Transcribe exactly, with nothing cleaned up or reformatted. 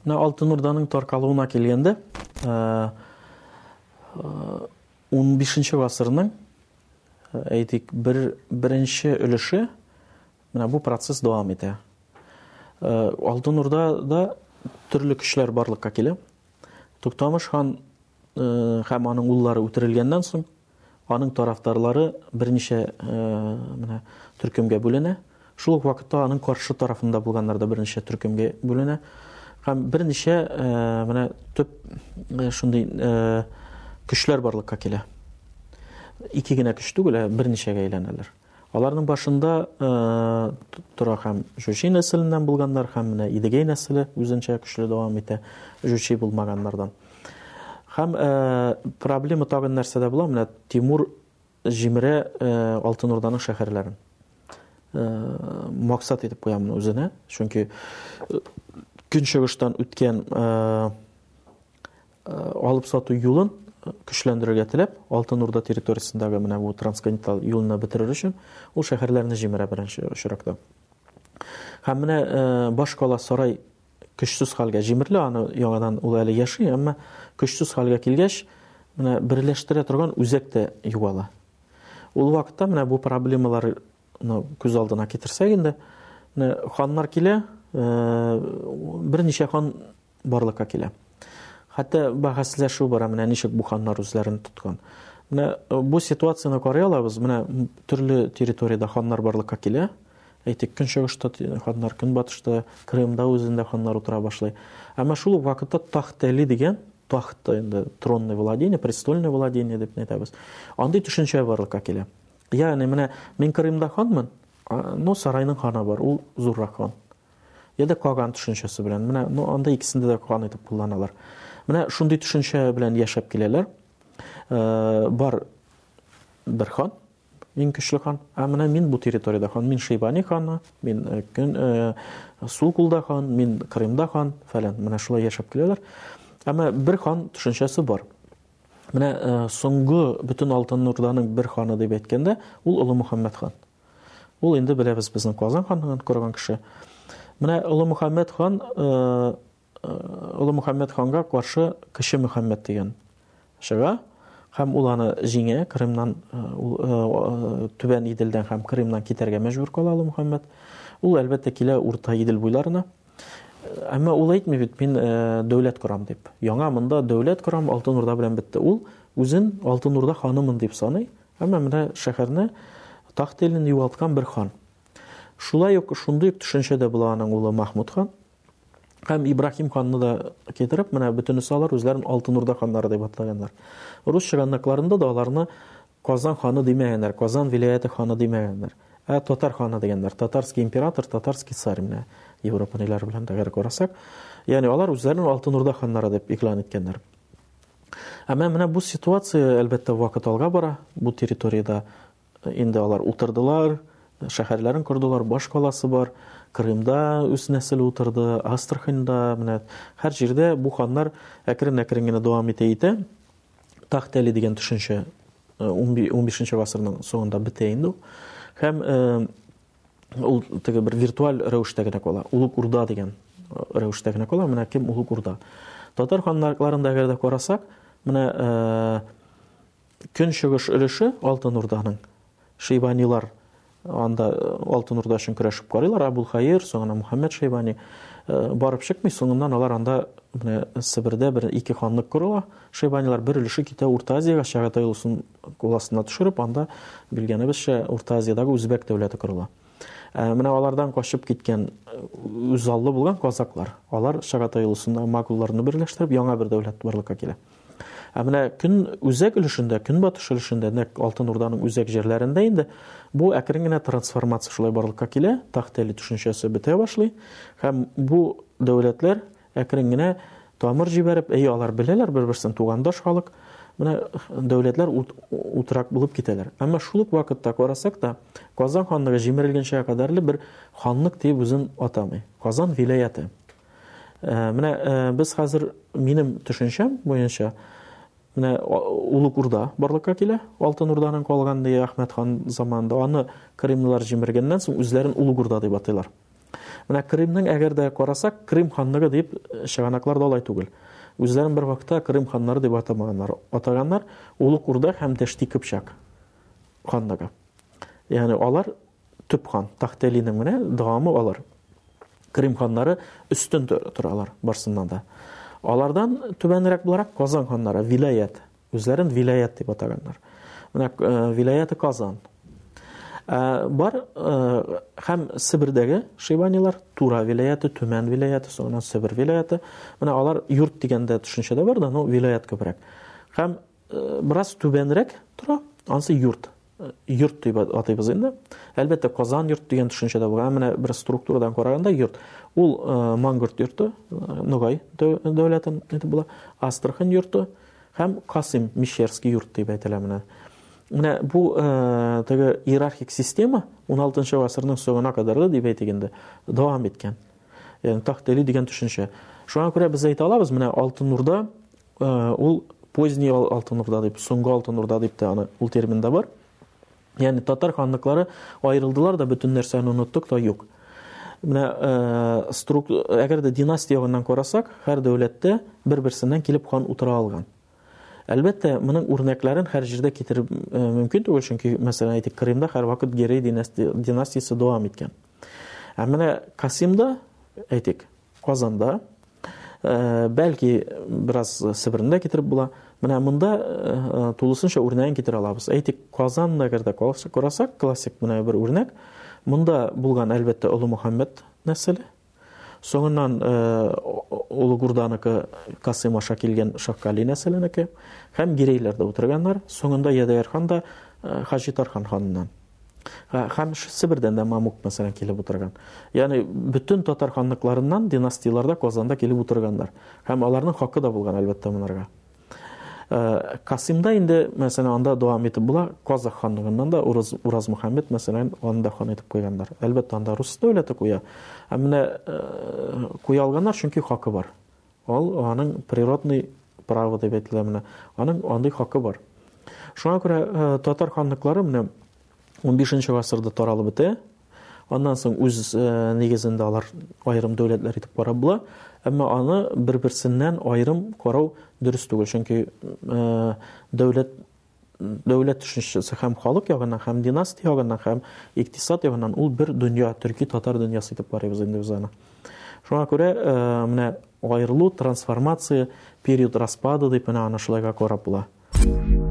Менә Алтын Урданың таркалуына килгәндә, ун бишенче гасырның әйтик бер беренче өлеше менә бу процесс дәвам итә. Алтын Урдада төрле көчләр барлыкка килә. Туктамыш хан һәм аның уллары үтерелгәннән соң аның тарафдарлары берничә менә төркемгә бүленә. Шул ук вакытта аның каршы тарафында булганнар да берничә төркемгә бүленә. Һәм берничә менә төп шундый көчләр барлыкка килә. Ике генә көч түгел, берничәгә әйләнәләр. Аларның башында тора һәм Жучи нәселеннән булганнар, һәм менә Идегәй нәселе үзенчә көчле дәвам итә Жучи булмаганнардан. Һәм проблема тагын нәрсәдә була, менә Тимур җимерә Алтын Урданың шәһәрләрен. Максат итеп куя моны үзенә, чөнки көнчыгыштан үткән алып сату юлын көчләндерергә теләп, Алтын Урда территориясендәге менә бу трансконтиненталь юлны бетерер өчен ул шәһәрләрне җимерә беренче очракта. Һәм менә баш кала сарай көчсез хәлгә җимерелә, аны яңадан ул әле яши, әмма көчсез хәлгә килгәч, менә берләштерә торган үзәк тә югала. Ул вакытта менә бу проблемалар күз алдына китерсәк инде, ханнар килә, берничә хан барлыкка килә. Хәтта бәхәсләшү бара, менә ничек бу ханнар үзләрен тоткан. Менә бу ситуацияны карый алабыз, менә төрле территорияда ханнар барлыкка килә. Әйтик, көнчыгышта ханнар, көнбатышта, Крымда үзендә ханнар утыра башлый. Әмма шул ук вакытта Тахт-Әли дигән, тахт инде тронный владение, престольное владение дип әйтәбез. Андый төшенчә барлыкка килә. Ягъни менә мин Крымда ханмын, но сарайның ханы бар, ул зуррак хан. Яда Каган төшенчәсе белән, менә ну анда икесендә дә хан итеп кулланалар. Менә шундый төшенчә белән яшәп киләләр. Бар бер хан, иң көчле хан. Ә менә мин бу территорияда хан, мин Шейбани ханы, мин көн Сулкулда хан, мин Крымда хан фәлән. Менә шулай яшәп киләләр. Әмма бер хан төшенчәсе бар. Менә соңгы бөтен Алтын Урданың бер ханы дип әйткәндә, ул Улы Мөхәммәд хан. Ул инде беләбез безнең Казан ханлыгын корган кеше. Менә Улы Мөхәммәд хан Улы Мөхәммәд ханга каршы Кече Мөхәммәд дигән чыга, һәм ул аны җиңә, Крымнан Түбән Иделдән һәм Крымнан китәргә мәҗбүр кала Улы Мөхәммәд. Ул әлбәттә килә Урта Идел буйларына. Әмма ул әйтми бит, мин дәүләт корам дип. Яңа монда дәүләт корам, Алтын Урда белән бетте. Ул үзен Алтын Урда ханымын дип саный, әмма менә шәһәрне Тахт-Элен югалткан бер хан. Шулай ук шундый төшенчәдә була аның улы Махмуд хан. Һәм Ибрахим ханны да китереп, менә бөтенесе алар үзләрен Алтын Урда ханнары дип атлаганнар. Рус чыганнакларында да аларны Казан ханы димәгәннәр, Казан вилаяты ханы димәгәннәр. Ә татар ханы дигәннәр, татарский император, татарский царь менә Европалар белән дә карасак, ягъни алар үзләрен Алтын Урда ханнары дип иклан иткәннәр. Әмма менә бу ситуация әлбәттә вакыт алга бара. Бу территорияда инде алар утырдылар, шәһәрләрен кордылар, баш каласы бар. Крымда үз нәселе утырды, Астраханьда, менә һәр җирдә бу ханнар әкрен-әкрен генә дәвам итә итә. Тахт-Әли дигән төшенчә ун бишенче гасырның соңында бетә инде. Һәм ул теге бер виртуаль рәвештә генә кала. Улуг Урда дигән рәвештә генә кала. Менә кем Улуг Урда? Татар ханнарында әгәр дә карасак, менә көнчыгыш өлеше Алтын Урданың. Шейбанилар анда Алтын Урда өчен көрәшеп карыйлар, Абулхайыр, соңына Мөхәммәд Шейбани барып чыкмый, соңыннан алар анда менә Себердә бер ике ханлык корыла. Шейбанилар бер өлеше китә Урта Азиягә, Чагатай улусын куласына төшереп, анда билгәнебезчә Урта Азиядагы үзбәк дәүләте корыла. Менә алардан качып киткән үзаллы булган казаклар, алар Чагатай улусында магулларны берләштереп яңа бер дәүләт барлыкка килә. Ә менә көн үзәк өлешендә, көнбатыш өлешендә, нәкъ Алтын Урданың үзәк җирләрендә инде бу әкрен генә трансформация шулай барлыкка килә, Тахт-Әли төшенчәсе бетә башлый, һәм бу дәүләтләр әкрен генә тамыр җибәреп, әй алар беләләр бер-берсен тугандаш халык, менә дәүләтләр утрак булып китәләр. Әмма шул ук вакытта карасак та, Казан ханлыгы җимерелгәнчә кадәрле бер ханлык дип үзен атамый. Казан вилаяты. Менә без хәзер минем төшенчәм буенча менә Улуг Урда барлыкка килә. Алтын Урданың калган ди Әхмәт хан заманында аны Крымлылар җимергәннән соң үзләрен Улуг Урда дип атыйлар. Менә Кримның әгәр дә карасак, Крим ханлыгы дип чыганаклар да алай түгел. Үзләрен бер вакытта Крим ханнары дип атамаганнар. Атаганнар Улуг Урда һәм Дәшти Кыпчак ханлыгы. Ягъни алар төп хан, Тахтелинең менә дәвамы алар. Крим ханнары өстен торалар барсыннан да. Алардан түбәнрәк буларак Казан ханнары, вилаят. Үзләрен вилаят дип атаганнар. Менә вилаяты Казан. Бар һәм Сибирдәге Шейбанилар, Тура вилаяты, Төмән вилаяты, соңыннан Сибир вилаяты. Менә алар йорт дигәндә төшенчәдә бар да, ну вилаят күбрәк. Һәм бераз түбәнрәк тора, анысы йорт. Йорт дип атыйбыз инде. Әлбәттә Казан йорт дигән төшенчәдә булган. Менә бер структурадан караганда йорт. Ул Мангорт йорты, Ногай дәүләтен дип була, Астрахань йорты һәм Касым Мишерский йорт дип әйтелә менә. Менә бу теге иерархик система он алтынчы гасырның соңына кадәр дип әйтегәндә дәвам иткән. Ягъни Тахтели дигән төшенчә. Шуңа күрә без әйтә алабыз, менә Алтын Урда ул поздний Алтын Урда дип, соңгы Алтын Урда дип тә аны ул термин дә бар. Ягъни татар ханлыклары аерылдылар да, бөтен нәрсәне оныттык та юк. Менә әгәр дә династия ягыннан карасак, һәр дәүләттә бер-берсеннән килеп хан утыра алган. Әлбәттә, моның үрнәкләрен һәр җирдә китереп мөмкин түгел, чөнки мәсәлән әйтик, Кримда һәр вакыт Герей династиясе дәвам иткән. Ә менә Касимда, әйтик, Казанда, бәлки бераз Сибирдә китереп була. Менә монда тулысынча үрнәген китерә алабыз. Әйтик, Казанда әгәр дә карасак, классик менә бер үрнәк. Монда булган әлбәттә Улы Мөхәммәд нәселе. Соңыннан Улуг Урданыкі Касым аша килгән Шаккали нәселенеке. Һәм Гирейләрдә утырганнар. Соңында Ядайыр хан да Хаҗи Тархан ханыннан. Һәм Сибирдән дә Мамук мәсәлән килеп утырган. Ягъни бөтен татар ханлыкларыннан династияларда Казанда килеп утырганнар. Һәм аларның хакы да булган әлбәттә монарга. Касимда инде мәсәлән анда дәвам итеп була, Казах ханлыгыннан да Ураз Ураз Мөхәммәд мәсәлән анда хан итеп куйганнар. Әлбәттә анда рус дәүләте куя. Ә менә куя алганнар, чөнки хакы бар. Ал аның природный право дип әйтелә менә. Аның андый хакы бар. Шуңа күрә татар ханлыклары менә он бишенче гасырда таралып бетә. Аннан соң үз нигезендә алар аерым дәүләтләр итеп карап була. Әмма аны бер-берсеннән аерым карау дөрес түгел, чөнки дәүләт дәүләт төшенчәсе һәм халык ягыннан, һәм династия ягыннан, һәм икътисад ягыннан ул бер дөнья, төрки татар дөньясы итеп карыйбыз инде без аны. Шуңа күрә менә аерылу, трансформация, период распада дип менә аны шулайга карап була.